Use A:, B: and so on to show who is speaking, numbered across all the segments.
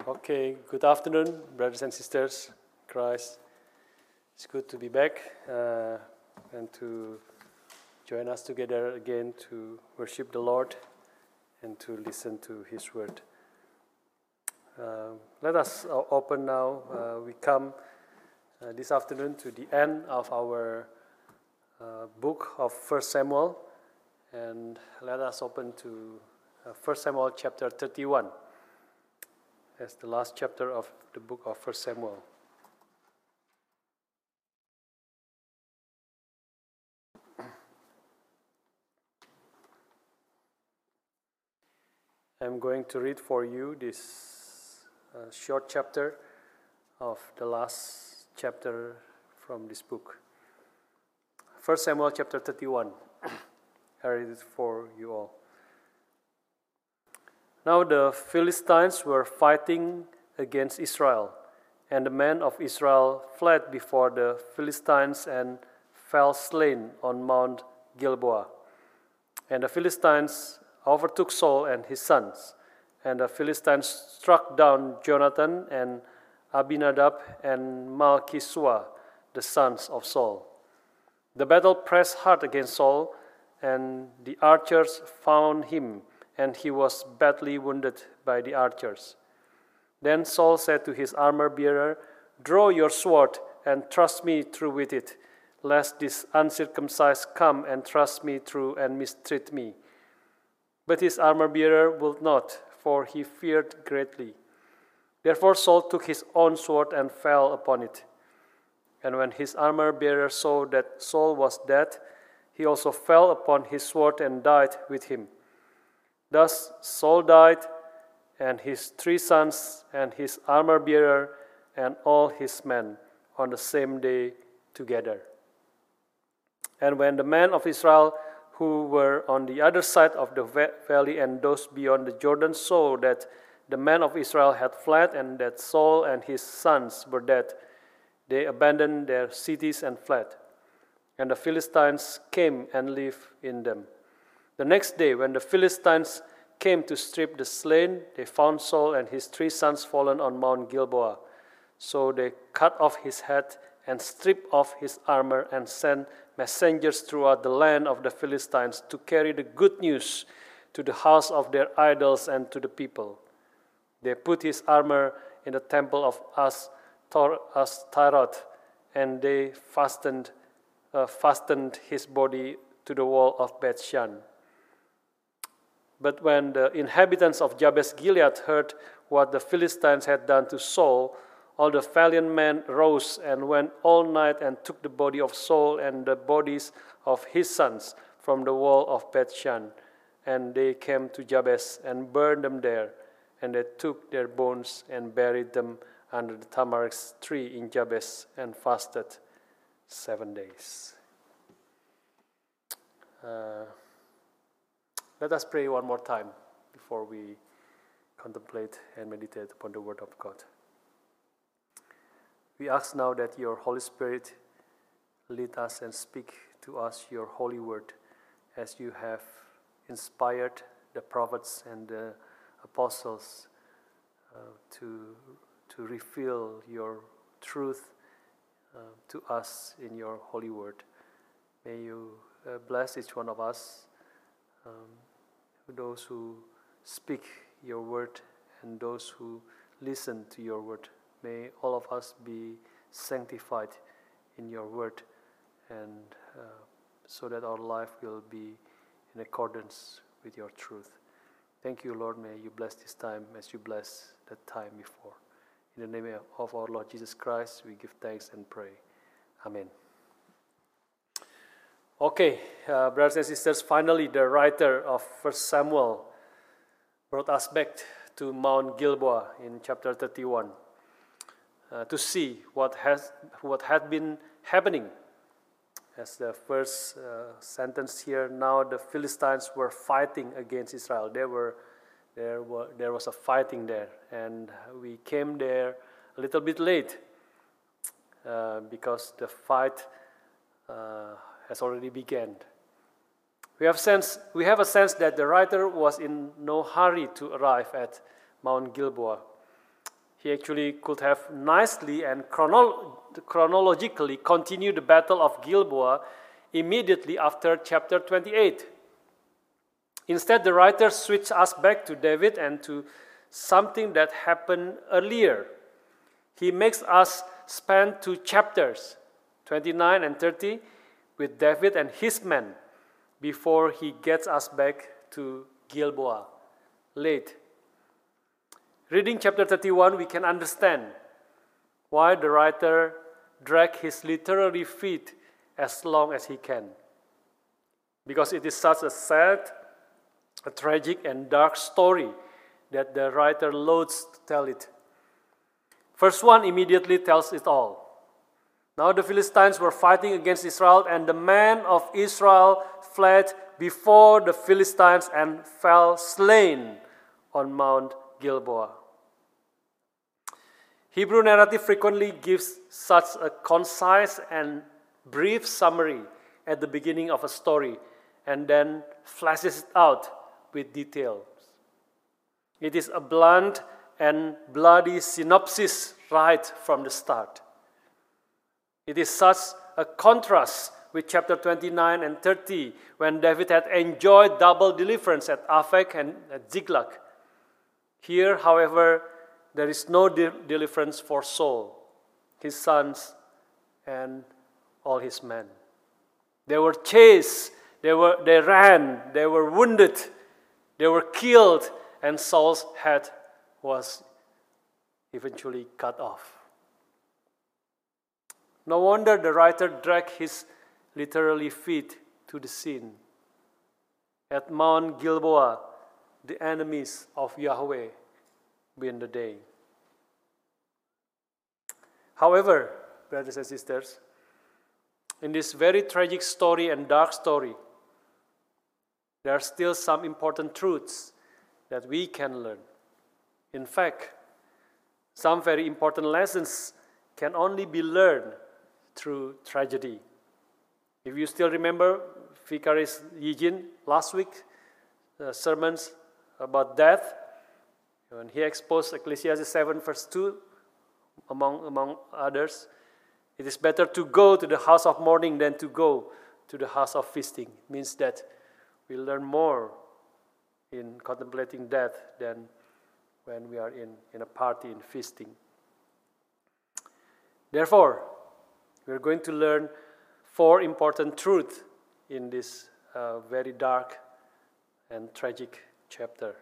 A: Okay, good afternoon, brothers and sisters. Christ, it's good to be back and to join us together again to worship the Lord and to listen to His word. Let us open now. We come this afternoon to the end of our book of 1 Samuel, and let us open to 1 Samuel chapter 31. As the last chapter of the book of 1 Samuel. I'm going to read for you this short chapter of the last chapter from this book. 1 Samuel chapter 31. I read it for you all. Now the Philistines were fighting against Israel, and the men of Israel fled before the Philistines and fell slain on Mount Gilboa. And the Philistines overtook Saul and his sons, and the Philistines struck down Jonathan and Abinadab and Malchishua, the sons of Saul. The battle pressed hard against Saul, and the archers found him, and he was badly wounded by the archers. Then Saul said to his armor-bearer, "Draw your sword and thrust me through with it, lest this uncircumcised come and thrust me through and mistreat me." But his armor-bearer would not, for he feared greatly. Therefore Saul took his own sword and fell upon it. And when his armor-bearer saw that Saul was dead, he also fell upon his sword and died with him. Thus Saul died, and his 3 sons, and his armor-bearer, and all his men, on the same day together. And when the men of Israel who were on the other side of the valley and those beyond the Jordan saw that the men of Israel had fled, and that Saul and his sons were dead, they abandoned their cities and fled. And the Philistines came and lived in them. The next day, when the Philistines came to strip the slain, they found Saul and his 3 sons fallen on Mount Gilboa. So they cut off his head and stripped off his armor and sent messengers throughout the land of the Philistines to carry the good news to the house of their idols and to the people. They put his armor in the temple of Ashtaroth, and they fastened his body to the wall of Bethshan. But when the inhabitants of Jabesh Gilead heard what the Philistines had done to Saul, all the valiant men rose and went all night and took the body of Saul and the bodies of his sons from the wall of Bethshan. And they came to Jabesh and burned them there. And they took their bones and buried them under the tamarisk tree in Jabesh and fasted 7 days. Let us pray one more time before we contemplate and meditate upon the Word of God. We ask now that your Holy Spirit lead us and speak to us your holy word as you have inspired the prophets and the apostles to reveal your truth to us in your holy word. May you bless each one of us, those who speak your word and those who listen to your word. May all of us be sanctified in your word, and so that our life will be in accordance with your truth. Thank you, Lord. May you bless this time as you bless that time before. In the name of our Lord Jesus Christ, we give thanks and pray. Amen. Okay, brothers and sisters, finally the writer of 1 Samuel brought us back to Mount Gilboa in chapter 31 to see what had been happening. As the first sentence here, now the Philistines were fighting against Israel. There was a fighting there, and we came there a little bit late because the fight has already begun. We have a sense that the writer was in no hurry to arrive at Mount Gilboa. he actually could have nicely and chronologically continued the Battle of Gilboa immediately after chapter 28. Instead, the writer switched us back to David and to something that happened earlier. He makes us spend 2 chapters, 29 and 30, with David and his men before he gets us back to Gilboa late. Reading chapter 31, we can understand why the writer dragged his literary feet as long as he can. Because it is such a sad, a tragic and dark story that the writer loathes to tell it. Verse 1 immediately tells it all. Now the Philistines were fighting against Israel, and the men of Israel fled before the Philistines and fell slain on Mount Gilboa. Hebrew narrative frequently gives such a concise and brief summary at the beginning of a story and then flashes it out with details. It is a blunt and bloody synopsis right from the start. It is such a contrast with chapter 29 and 30 when David had enjoyed double deliverance at Aphek and at Ziklag. Here, however, there is no deliverance for Saul, his sons, and all his men. They were chased, they ran, they were wounded, they were killed, and Saul's head was eventually cut off. No wonder the writer dragged his literally feet to the scene. At Mount Gilboa, the enemies of Yahweh win the day. However, brothers and sisters, in this very tragic story and dark story, there are still some important truths that we can learn. In fact, some very important lessons can only be learned through tragedy. If you still remember Vicaris Yijin last week, sermons about death, when he exposed Ecclesiastes 7 verse 2, among others, it is better to go to the house of mourning than to go to the house of feasting. It means that we learn more in contemplating death than when we are in a party, in feasting. Therefore, we are going to learn 4 important truths in this very dark and tragic chapter.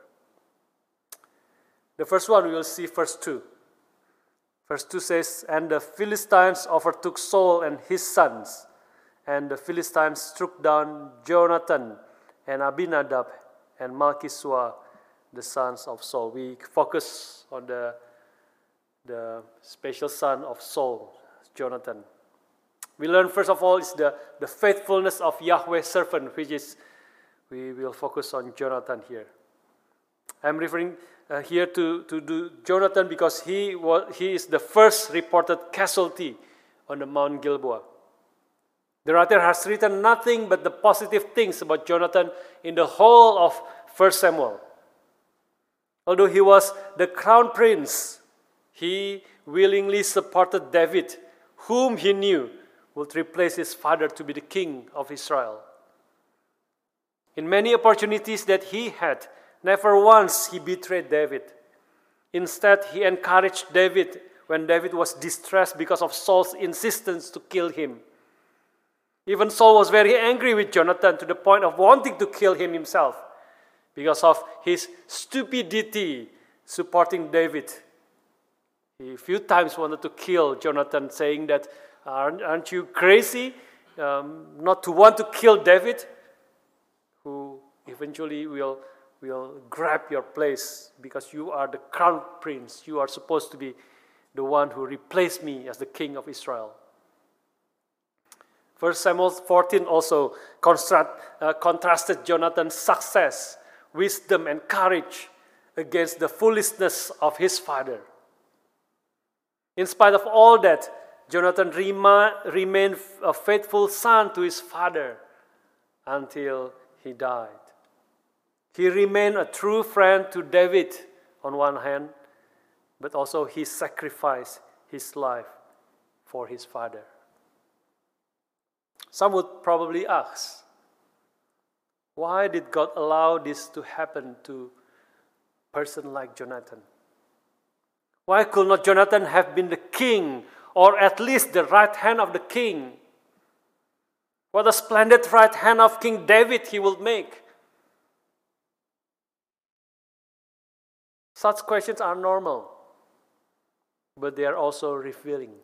A: The first one we will see verse 2. Verse 2 says, "And the Philistines overtook Saul and his sons, and the Philistines struck down Jonathan and Abinadab and Malchishua, the sons of Saul." We focus on the special son of Saul, Jonathan. We learn first of all is the faithfulness of Yahweh's servant, which is, we will focus on Jonathan here. I'm referring here to Jonathan because he is the first reported casualty on the Mount Gilboa. The writer has written nothing but the positive things about Jonathan in the whole of 1 Samuel. Although he was the crown prince, he willingly supported David, whom he knew would replace his father to be the king of Israel. In many opportunities that he had, never once he betrayed David. Instead, he encouraged David when David was distressed because of Saul's insistence to kill him. Even Saul was very angry with Jonathan to the point of wanting to kill him himself because of his stupidity supporting David. He a few times wanted to kill Jonathan, saying that, aren't you crazy not to want to kill David, who eventually will grab your place because you are the crown prince. You are supposed to be the one who replaced me as the king of Israel. 1 Samuel 14 also contrasted Jonathan's success, wisdom, and courage against the foolishness of his father. In spite of all that, Jonathan remained a faithful son to his father until he died. He remained a true friend to David on one hand, but also he sacrificed his life for his father. Some would probably ask, why did God allow this to happen to a person like Jonathan? Why could not Jonathan have been the king, or at least the right hand of the king? What a splendid right hand of King David he would make. Such questions are normal, but they are also revealing.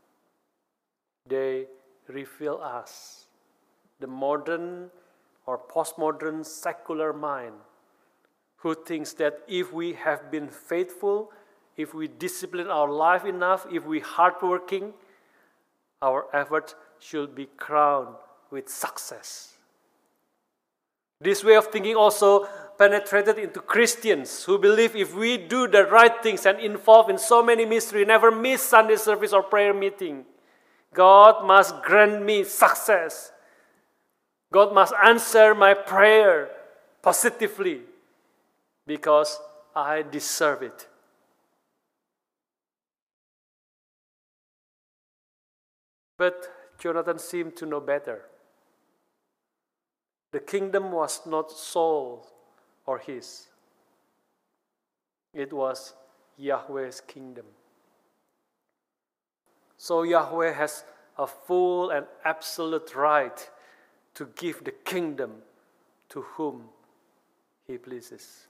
A: They reveal us, the modern or postmodern secular mind, who thinks that if we have been faithful, if we discipline our life enough, if we hardworking, our efforts should be crowned with success. This way of thinking also penetrated into Christians who believe if we do the right things and involved in so many mysteries, never miss Sunday service or prayer meeting, God must grant me success. God must answer my prayer positively because I deserve it. But Jonathan seemed to know better. The kingdom was not Saul or his. It was Yahweh's kingdom. So Yahweh has a full and absolute right to give the kingdom to whom he pleases.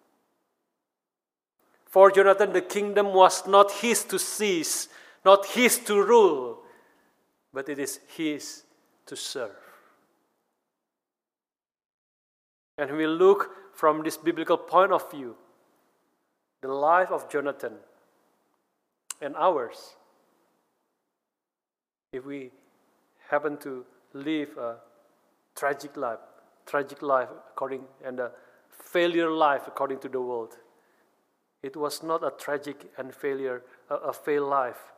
A: For Jonathan, the kingdom was not his to seize, not his to rule, but it is his to serve. And we look from this biblical point of view, the life of Jonathan and ours. If we happen to live a tragic life and a failure life according to the world, it was not a tragic and a failed life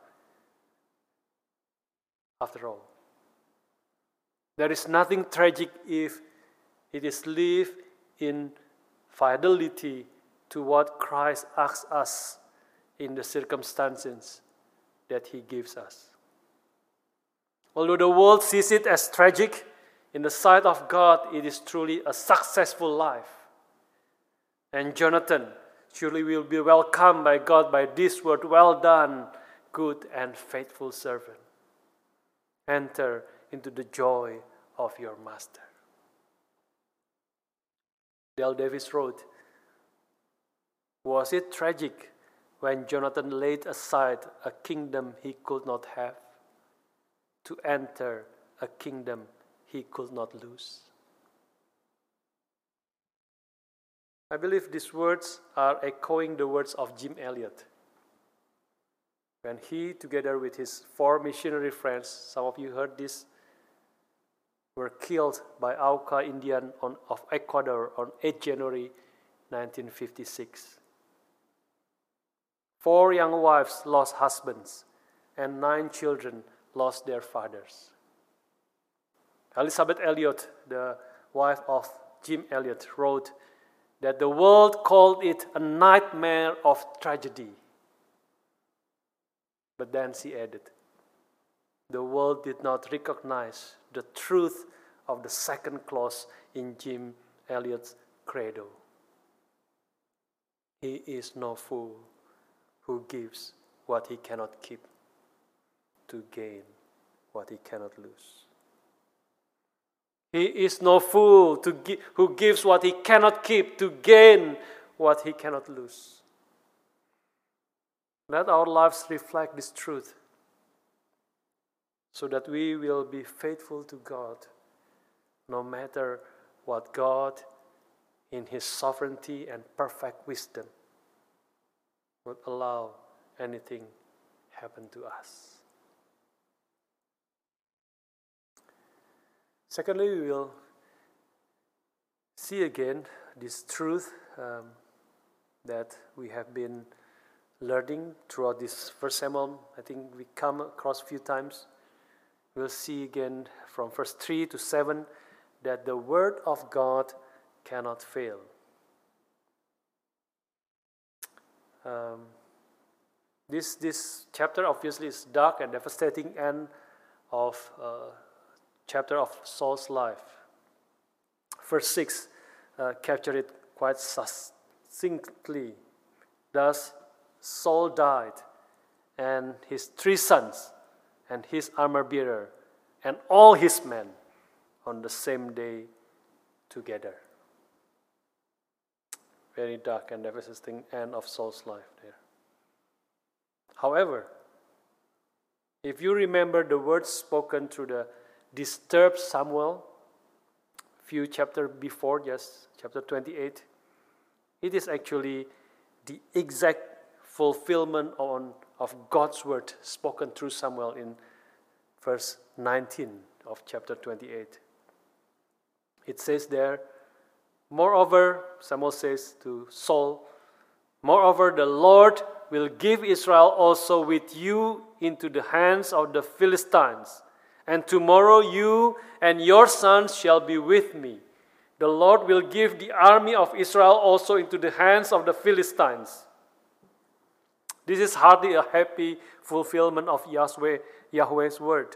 A: after all. There is nothing tragic if it is lived in fidelity to what Christ asks us in the circumstances that he gives us. Although the world sees it as tragic, in the sight of God, it is truly a successful life. And Jonathan surely will be welcomed by God by this word, well done, good and faithful servant. Enter into the joy of your master. Dale Davis wrote, was it tragic when Jonathan laid aside a kingdom he could not have to enter a kingdom he could not lose? I believe these words are echoing the words of Jim Elliot. When he, together with his 4 missionary friends, some of you heard this, were killed by Auca Indian of Ecuador on 8 January 1956. 4 young wives lost husbands, and 9 children lost their fathers. Elizabeth Elliot, the wife of Jim Elliot, wrote that the world called it a nightmare of tragedy. But then she added, the world did not recognize the truth of the second clause in Jim Elliot's credo. He is no fool who gives what he cannot keep to gain what he cannot lose. He is no fool who gives what he cannot keep to gain what he cannot lose. Let our lives reflect this truth so that we will be faithful to God no matter what God in his sovereignty and perfect wisdom would allow anything happen to us. Secondly, we will see again this truth that we have been learning throughout this First Samuel. I think we come across a few times. We'll see again from verse 3 to 7 that the word of God cannot fail. This chapter obviously is dark and devastating end of chapter of Saul's life. Verse 6 captured it quite succinctly. Thus Saul died, and his 3 sons, and his armor-bearer, and all his men on the same day together. Very dark and devastating end of Saul's life there. However, if you remember the words spoken through the disturbed Samuel, few chapters before, just chapter 28, it is actually the exact fulfillment of God's word spoken through Samuel in verse 19 of chapter 28. It says there, moreover, Samuel says to Saul, moreover, the Lord will give Israel also with you into the hands of the Philistines. And tomorrow you and your sons shall be with me. The Lord will give the army of Israel also into the hands of the Philistines. This is hardly a happy fulfillment of Yahweh's word.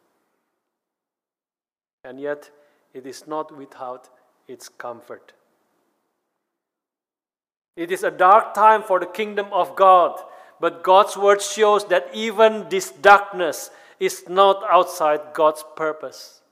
A: And yet, it is not without its comfort. It is a dark time for the kingdom of God, but God's word shows that even this darkness is not outside God's purpose.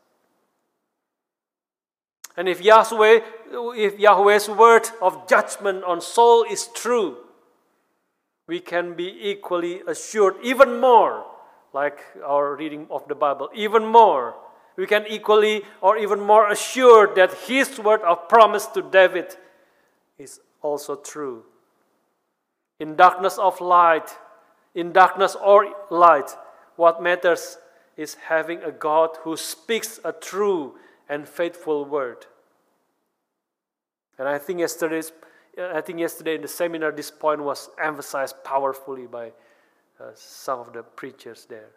A: And if Yahweh's word of judgment on Saul is true, we can be equally assured, even more, like our reading of the Bible, even more, we can equally or even more assured that his word of promise to David is also true. In darkness or light, what matters is having a God who speaks a true and faithful word. And I think yesterday in the seminar, this point was emphasized powerfully by some of the preachers there.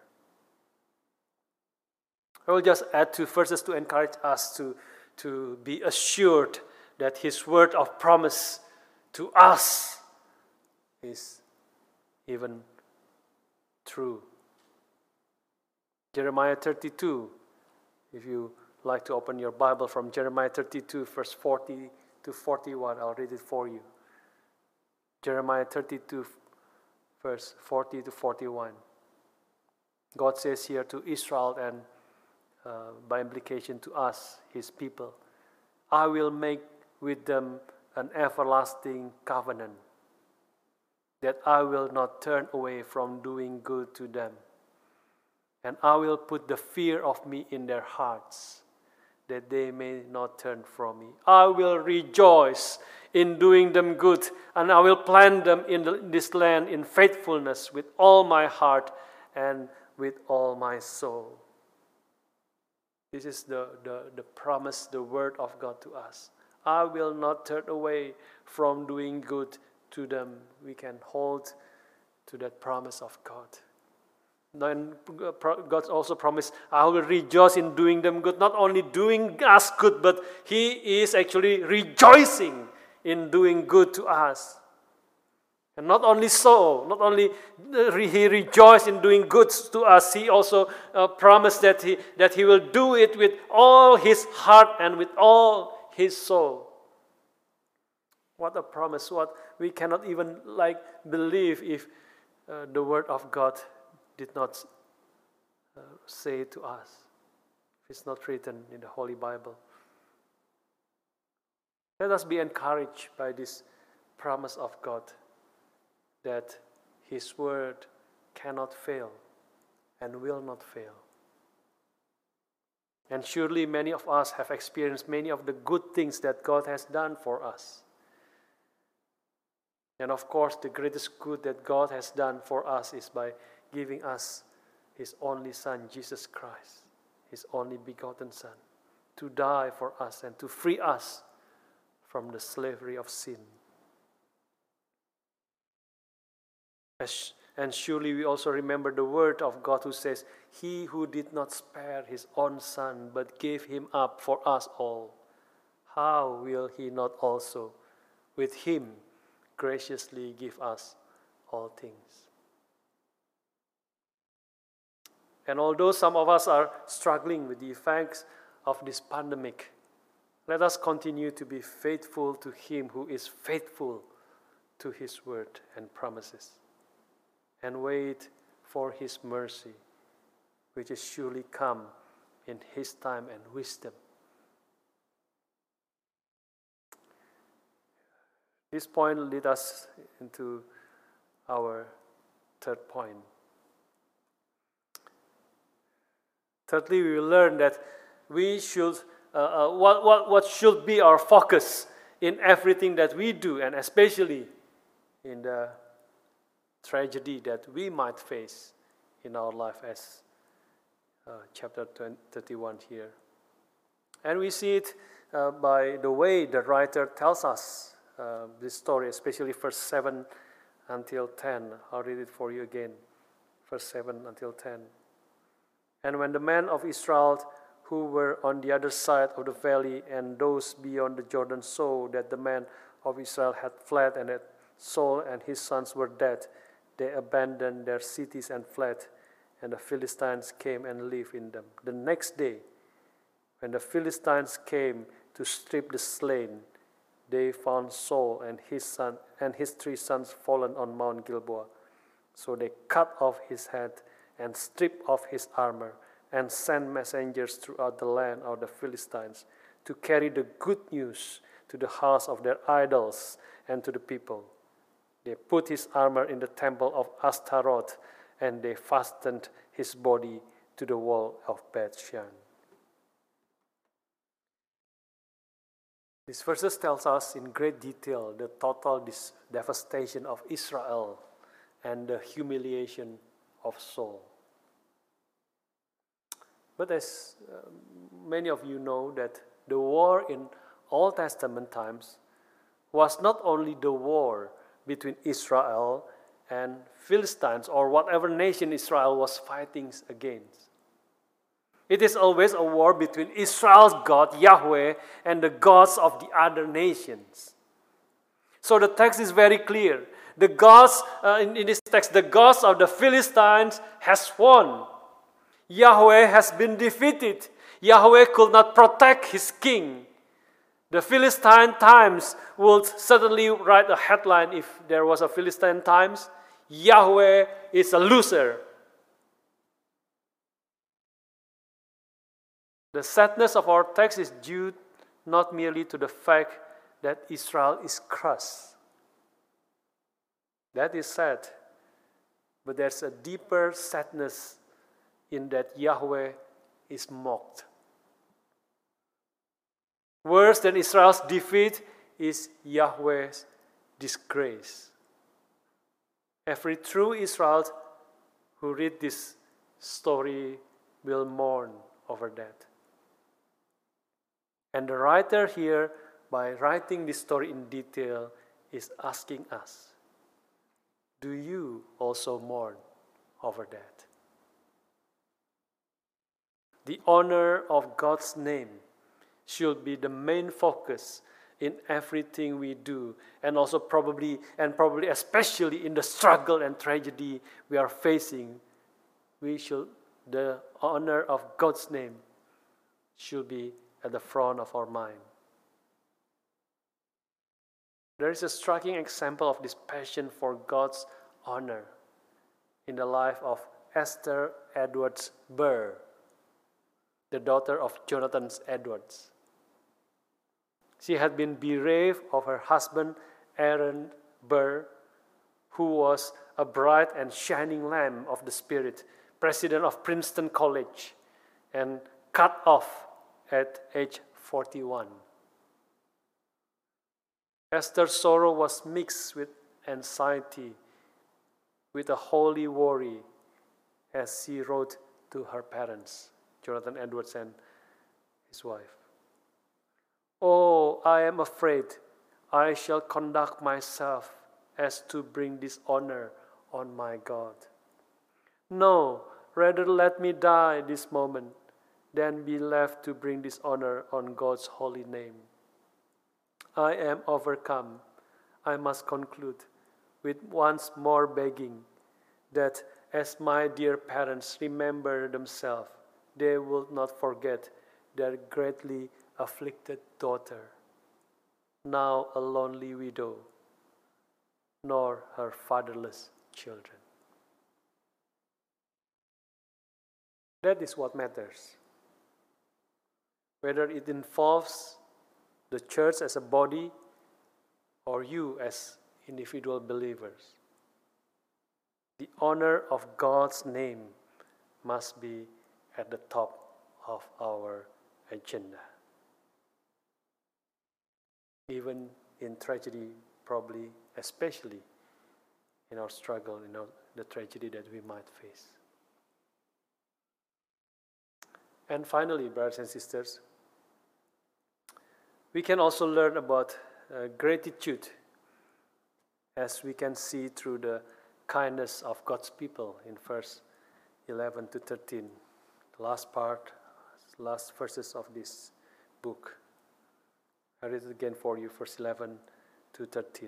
A: I will just add 2 verses to encourage us to be assured that his word of promise to us is even true. Jeremiah 32, if you like to open your Bible from Jeremiah 32, verse 40 to 41, I'll read it for you. Jeremiah 32, verse 40 to 41. God says here to Israel and by implication to us, his people, I will make with them an everlasting covenant, that I will not turn away from doing good to them. And I will put the fear of me in their hearts, that they may not turn from me. I will rejoice in doing them good, and I will plant them in this land in faithfulness with all my heart and with all my soul. This is the promise, the word of God to us. I will not turn away from doing good to them. We can hold to that promise of God. Then God also promised, I will rejoice in doing them good. Not only doing us good, but he is actually rejoicing in doing good to us. And not only so, not only he rejoiced in doing good to us, he also promised that he will do it with all his heart and with all his soul. What a promise! What we cannot even believe if the word of God did not say to us. If it's not written in the Holy Bible. Let us be encouraged by this promise of God, that his word cannot fail and will not fail. And surely many of us have experienced many of the good things that God has done for us. And of course, the greatest good that God has done for us is by giving us his only Son, Jesus Christ, his only begotten Son, to die for us and to free us from the slavery of sin. And surely we also remember the word of God who says, he who did not spare his own Son, but gave him up for us all, how will he not also with him graciously give us all things? And although some of us are struggling with the effects of this pandemic, let us continue to be faithful to Him who is faithful to His word and promises, and wait for His mercy, which is surely come in His time and wisdom. This point leads us into our third point. Thirdly, we will learn that we should, what should be our focus in everything that we do, and especially in the tragedy that we might face in our life, as chapter 31 here. And we see it by the way the writer tells us this story, especially verse 7 until 10. I'll read it for you again, verse 7 until 10. And when the men of Israel who were on the other side of the valley and those beyond the Jordan saw that the men of Israel had fled and that Saul and his sons were dead, they abandoned their cities and fled, and the Philistines came and lived in them. The next day, when the Philistines came to strip the slain, they found Saul and his son and his 3 sons fallen on Mount Gilboa. So they cut off his head and stripped off his armor, and sent messengers throughout the land of the Philistines to carry the good news to the house of their idols and to the people. They put his armor in the temple of Ashtaroth, and they fastened his body to the wall of Beth-shan. These verses tells us in great detail the total devastation of Israel and the humiliation of Saul. But as many of you know, that the war in Old Testament times was not only the war between Israel and Philistines or whatever nation Israel was fighting against. It is always a war between Israel's God, Yahweh, and the gods of the other nations. So the text is very clear. The gods, in this text, the gods of the Philistines has won. Yahweh has been defeated. Yahweh could not protect his king. The Philistine Times would certainly write a headline if there was a Philistine Times: Yahweh is a loser. The sadness of our text is due not merely to the fact that Israel is crushed. That is sad. But there's a deeper sadness in that Yahweh is mocked. Worse than Israel's defeat is Yahweh's disgrace. Every true Israel who read this story will mourn over that. And the writer here, by writing this story in detail, is asking us, do you also mourn over that? The honor of God's name should be the main focus in everything we do, and also probably especially in the struggle and tragedy we are facing. The honor of God's name should be at the front of our mind. There is a striking example of this passion for God's honor in the life of Esther Edwards Burr, the daughter of Jonathan Edwards. She had been bereaved of her husband, Aaron Burr, who was a bright and shining lamb of the Spirit, president of Princeton College, and cut off at age 41. Esther's sorrow was mixed with anxiety, with a holy worry, as she wrote to her parents, Jonathan Edwards and his wife. "Oh, I am afraid I shall conduct myself as to bring dishonor on my God. No, rather let me die this moment than be left to bring dishonor on God's holy name. I am overcome, I must conclude, with once more begging that as my dear parents remember themselves, they will not forget their greatly afflicted daughter, now a lonely widow, nor her fatherless children. That is what matters. Whether it involves the church as a body or you as individual believers, the honor of God's name must be at the top of our agenda. Even in tragedy, probably, especially in our struggle, the tragedy that we might face. And finally, brothers and sisters, we can also learn about gratitude, as we can see through the kindness of God's people in verse 11 to 13, the last verses of this book. I read it again for you, verse 11 to 13.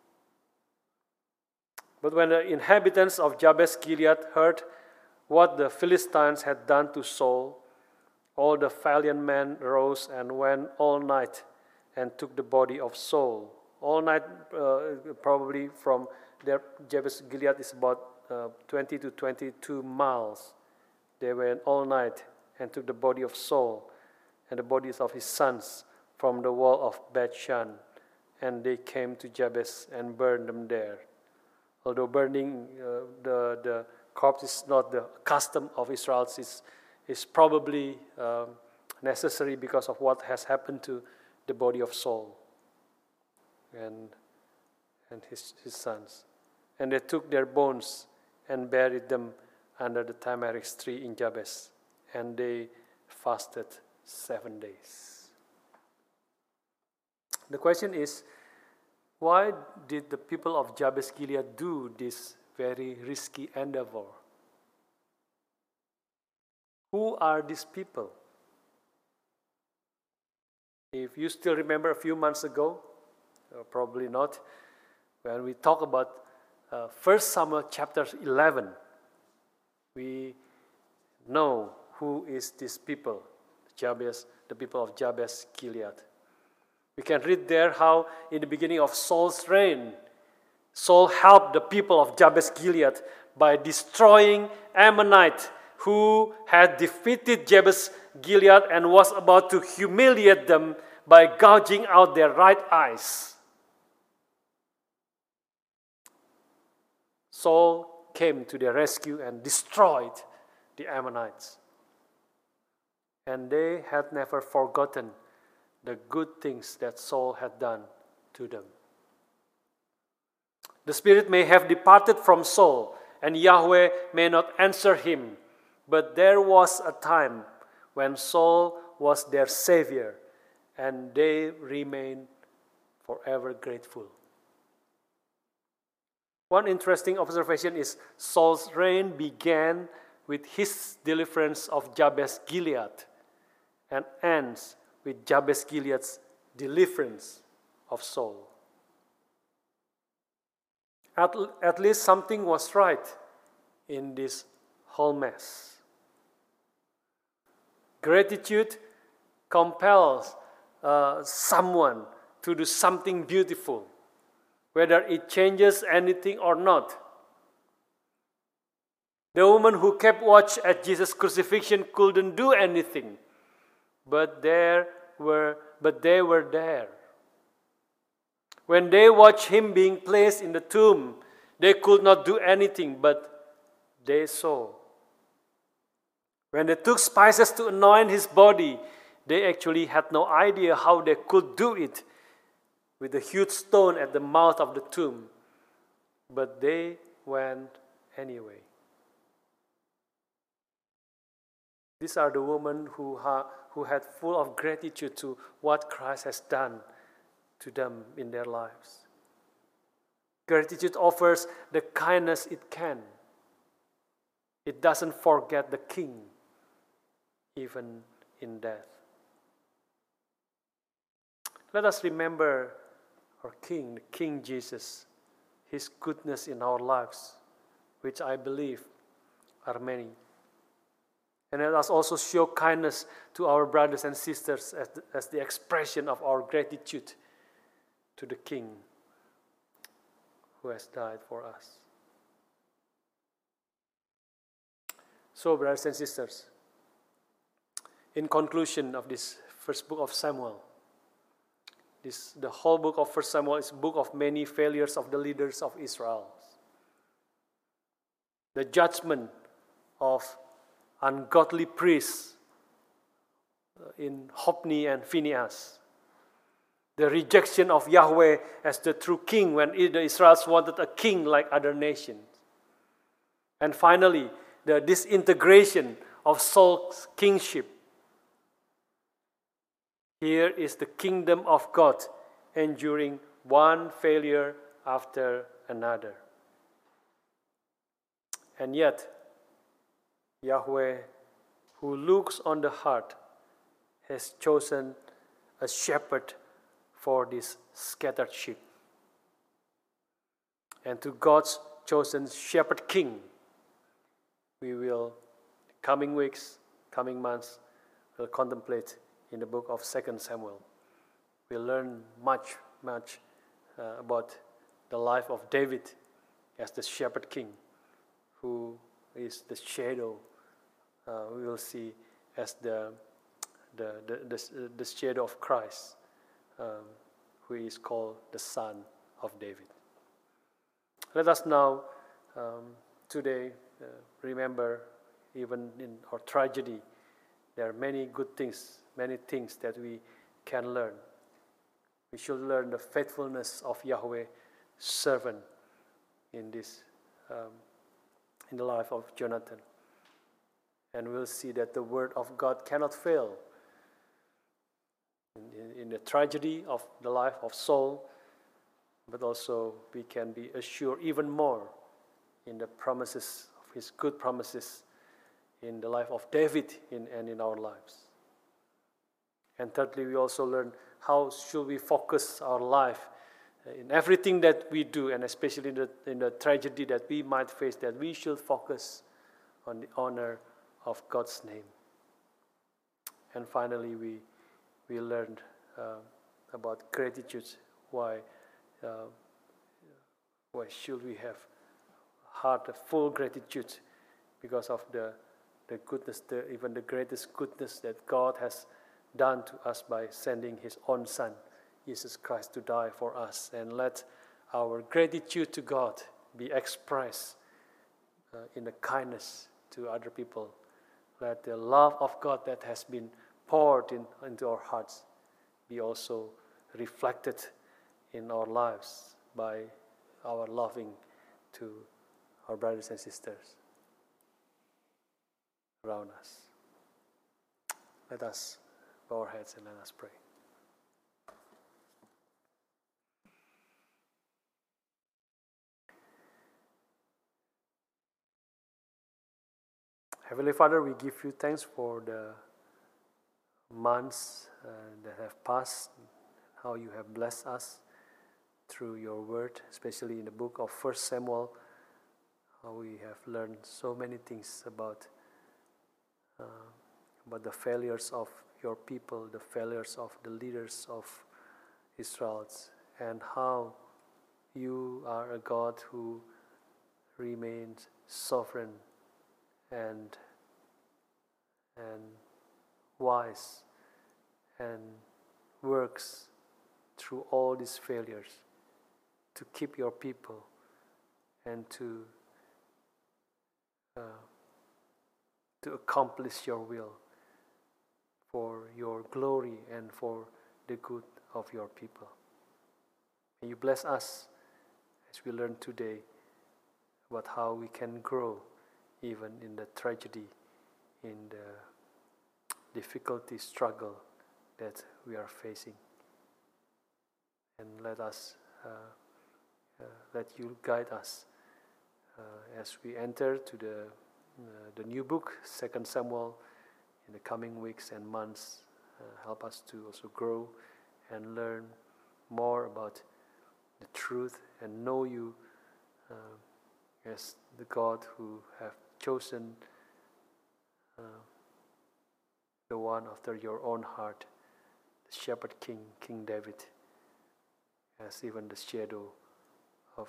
A: But when the inhabitants of Jabesh Gilead heard what the Philistines had done to Saul, all the valiant men rose and went all night and took the body of Saul. All night, probably from there, Jabesh Gilead is about 20 to 22 miles. They went all night and took the body of Saul and the bodies of his sons from the wall of Bethshan, and they came to Jabesh and burned them there. Although burning the corpse is not the custom of Israel, is probably necessary because of what has happened to the body of Saul and his sons. And they took their bones and buried them under the tamarisk tree in Jabesh, and they fasted 7 days. The question is, why did the people of Jabesh Gilead do this very risky endeavor? Who are these people? If you still remember a few months ago, probably not, when we talk about 1 Samuel chapter 11, we know who is this people, the people of Jabesh Gilead. We can read there how in the beginning of Saul's reign, Saul helped the people of Jabesh Gilead by destroying Ammonite who had defeated Jabesh Gilead and was about to humiliate them by gouging out their right eyes. Saul came to their rescue and destroyed the Ammonites. And they had never forgotten the good things that Saul had done to them. The Spirit may have departed from Saul, and Yahweh may not answer him, but there was a time when Saul was their Savior, and they remained forever grateful. One interesting observation is Saul's reign began with his deliverance of Jabesh Gilead and ends with Jabesh Gilead's deliverance of Saul. At least something was right in this whole mess. Gratitude compels someone to do something beautiful, whether it changes anything or not. The woman who kept watch at Jesus' crucifixion couldn't do anything, but they were there. When they watched him being placed in the tomb, they could not do anything, but they saw. When they took spices to anoint his body, they actually had no idea how they could do it with a huge stone at the mouth of the tomb, but they went anyway. These are the women who had full of gratitude to what Christ has done to them in their lives. Gratitude offers the kindness it can. It doesn't forget the King, even in death. Let us remember our King, the King Jesus, His goodness in our lives, which I believe are many. And let us also show kindness to our brothers and sisters as the expression of our gratitude to the King who has died for us. So, brothers and sisters, in conclusion of this first book of Samuel, the whole book of 1 Samuel is a book of many failures of the leaders of Israel. The judgment of ungodly priests in Hophni and Phinehas. The rejection of Yahweh as the true king when the Israelites wanted a king like other nations. And finally, the disintegration of Saul's kingship. Here is the kingdom of God enduring one failure after another. And yet, Yahweh, who looks on the heart, has chosen a shepherd for this scattered sheep. And to God's chosen shepherd king, we will, coming weeks, coming months, will contemplate in the book of 2 Samuel. We'll learn much about the life of David as the shepherd king, who is the shadow, we will see as the shadow of Christ, who is called the Son of David. Let us now, today, remember, even in our tragedy, there are many good things, many things that we can learn. We should learn the faithfulness of Yahweh, servant in this, in the life of Jonathan. And we'll see that the word of God cannot fail. In the tragedy of the life of Saul, but also we can be assured even more in the promises of his good promises in the life of David and in our lives. And thirdly, we also learn how should we focus our life in everything that we do, and especially in the tragedy that we might face, that we should focus on the honor of God's name. And finally, we learned about gratitude. Why should we have heart of full gratitude? Because of the goodness, even the greatest goodness that God has done to us by sending His own Son, Jesus Christ, to die for us. And let our gratitude to God be expressed in the kindness to other people. Let the love of God that has been poured into our hearts be also reflected in our lives by our loving to our brothers and sisters around us. Let us bow our heads and let us pray. Heavenly Father, we give you thanks for the months that have passed, how you have blessed us through your word, especially in the book of 1 Samuel, how we have learned so many things about the failures of your people, the failures of the leaders of Israel, and how you are a God who remains sovereign and wise and works through all these failures to keep your people and to accomplish your will for your glory and for the good of your people. May you bless us as we learn today about how we can grow even in the tragedy, in the difficulty, struggle that we are facing. And let us, let you guide us as we enter to the new book, 2 Samuel, in the coming weeks and months. Help us to also grow and learn more about the truth and know you as the God who have chosen the one after your own heart, the shepherd king, King David, as even the shadow of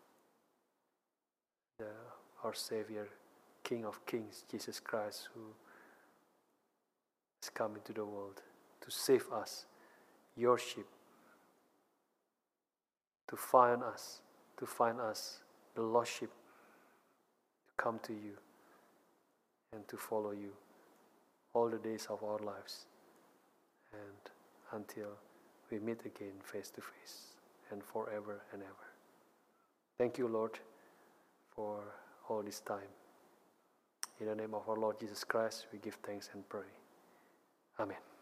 A: our Savior, King of Kings, Jesus Christ, who has come into the world to save us, your sheep, to find us, the lost sheep, to come to you and to follow you all the days of our lives, and until we meet again face to face and forever and ever. Thank you, Lord, for all this time. In the name of our Lord Jesus Christ, we give thanks and pray. Amen.